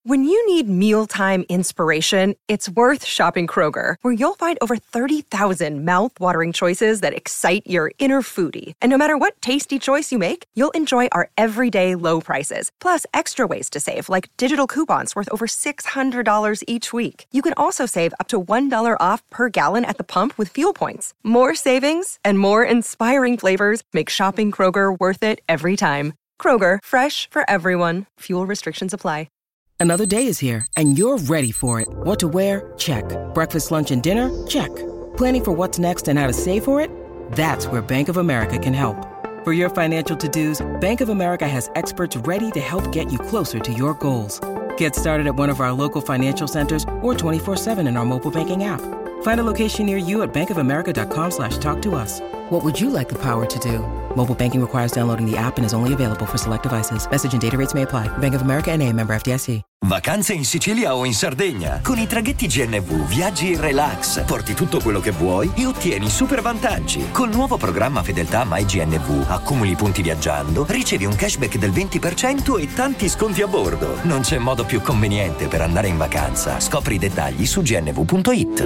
When you need mealtime inspiration, it's worth shopping Kroger, where you'll find over 30,000 mouth-watering choices that excite your inner foodie. And no matter what tasty choice you make, you'll enjoy our everyday low prices, plus extra ways to save, like digital coupons worth over $600 each week. You can also save up to $1 off per gallon at the pump with fuel points. More savings and more inspiring flavors make shopping Kroger worth it every time. Kroger, fresh for everyone. Fuel restrictions apply. Another day is here, and you're ready for it. What to wear? Check. Breakfast, lunch, and dinner? Check. Planning for what's next and how to save for it? That's where Bank of America can help. For your financial to-dos, Bank of America has experts ready to help get you closer to your goals. Get started at one of our local financial centers or 24/7 in our mobile banking app. Find a location near you at bankofamerica.com/talktous. What would you like the power to do? Mobile banking requires downloading the app and is only available for select devices. Message and data rates may apply. Bank of America N.A., member FDIC. Vacanze in Sicilia o in Sardegna. Con i traghetti GNV viaggi in relax, porti tutto quello che vuoi e ottieni super vantaggi. Col nuovo programma Fedeltà MyGNV accumuli punti viaggiando, ricevi un cashback del 20% e tanti sconti a bordo. Non c'è modo più conveniente per andare in vacanza. Scopri i dettagli su gnv.it.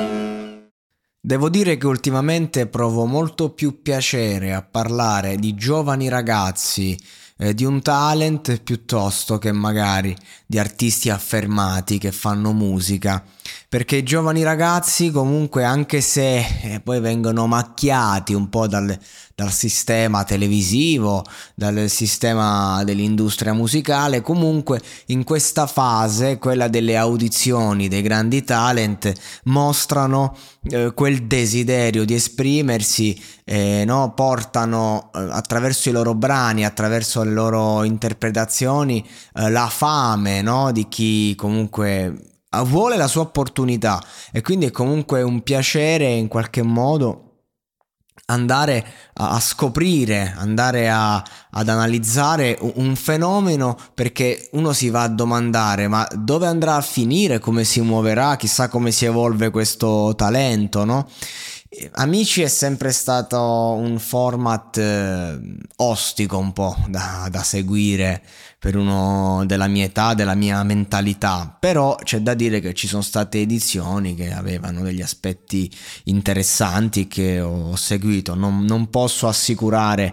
Devo dire che ultimamente provo molto più piacere a parlare di giovani ragazzi, di un talent, piuttosto che magari di artisti affermati che fanno musica, perché i giovani ragazzi comunque, anche se poi vengono macchiati un po' dal sistema televisivo, dal sistema dell'industria musicale, comunque in questa fase, quella delle audizioni dei grandi talent, mostrano quel desiderio di esprimersi, no? Portano attraverso i loro brani, attraverso le loro interpretazioni, la fame, no? Di chi comunque vuole la sua opportunità, e quindi è comunque un piacere in qualche modo andare a scoprire, andare ad analizzare un fenomeno, perché uno si va a domandare: ma dove andrà a finire, come si muoverà, chissà come si evolve questo talento, no? Amici è sempre stato un format ostico un po' da seguire per uno della mia età, della mia mentalità, però c'è da dire che ci sono state edizioni che avevano degli aspetti interessanti che ho seguito. Non posso assicurare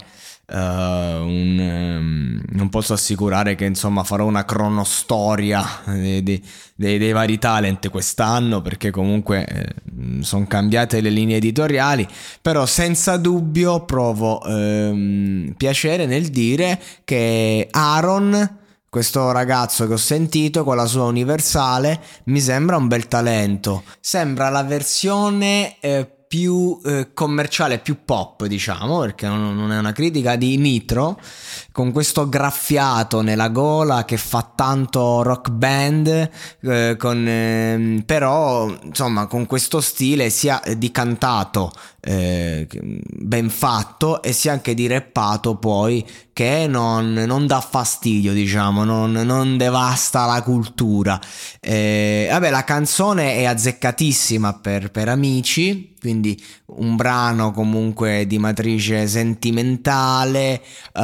non posso assicurare che insomma farò una cronostoria dei vari talent quest'anno, perché comunque sono cambiate le linee editoriali, però senza dubbio provo piacere nel dire che Aaron, questo ragazzo che ho sentito con la sua Universale, mi sembra un bel talento. Sembra la versione più commerciale, più pop, diciamo, perché non è una critica, di Nitro, con questo graffiato nella gola che fa tanto rock band, però insomma con questo stile sia di cantato ben fatto, e sia anche di rappato poi, che non dà fastidio, diciamo, non devasta la cultura. Vabbè, la canzone è azzeccatissima per Amici, quindi un brano comunque di matrice sentimentale,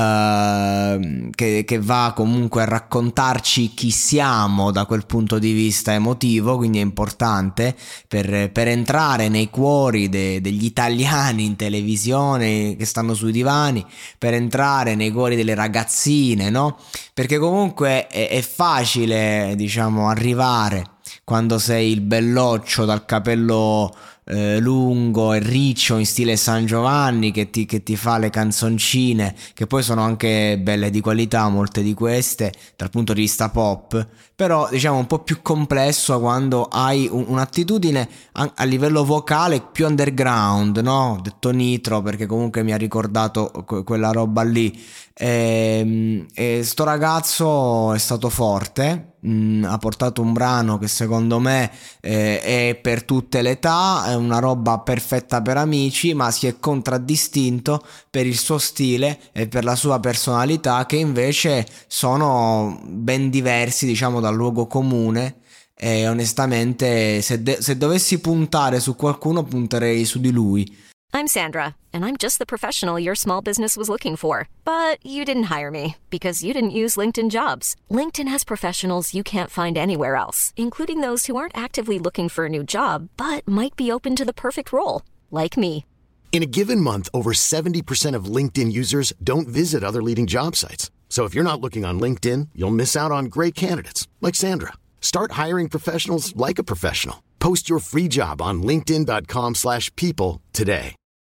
che va comunque a raccontarci chi siamo da quel punto di vista emotivo, quindi è importante per entrare nei cuori degli italiani in televisione che stanno sui divani, per entrare nei cuori delle ragazzine, no? Perché comunque è facile, diciamo, arrivare quando sei il belloccio dal capello lungo e riccio in stile San Giovanni, che ti fa le canzoncine, che poi sono anche belle di qualità, molte di queste dal punto di vista pop, però diciamo un po' più complesso quando hai un'attitudine a livello vocale più underground, no? Ho detto Nitro perché comunque mi ha ricordato quella roba lì. E sto ragazzo è stato forte, ha portato un brano che secondo me è per tutte le età, è una roba perfetta per Amici, ma si è contraddistinto per il suo stile e per la sua personalità, che invece sono ben diversi, diciamo, dal luogo comune. E onestamente se dovessi puntare su qualcuno, punterei su di lui. I'm Sandra, and I'm just the professional your small business was looking for. But you didn't hire me because you didn't use LinkedIn Jobs. LinkedIn has professionals you can't find anywhere else, including those who aren't actively looking for a new job, but might be open to the perfect role, like me. In a given month, over 70% of LinkedIn users don't visit other leading job sites. So if you're not looking on LinkedIn, you'll miss out on great candidates like Sandra. Start hiring professionals like a professional. Post your free job on linkedin.com/people today.